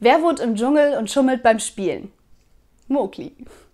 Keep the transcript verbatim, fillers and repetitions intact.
Wer wohnt im Dschungel und schummelt beim Spielen? Mowgli.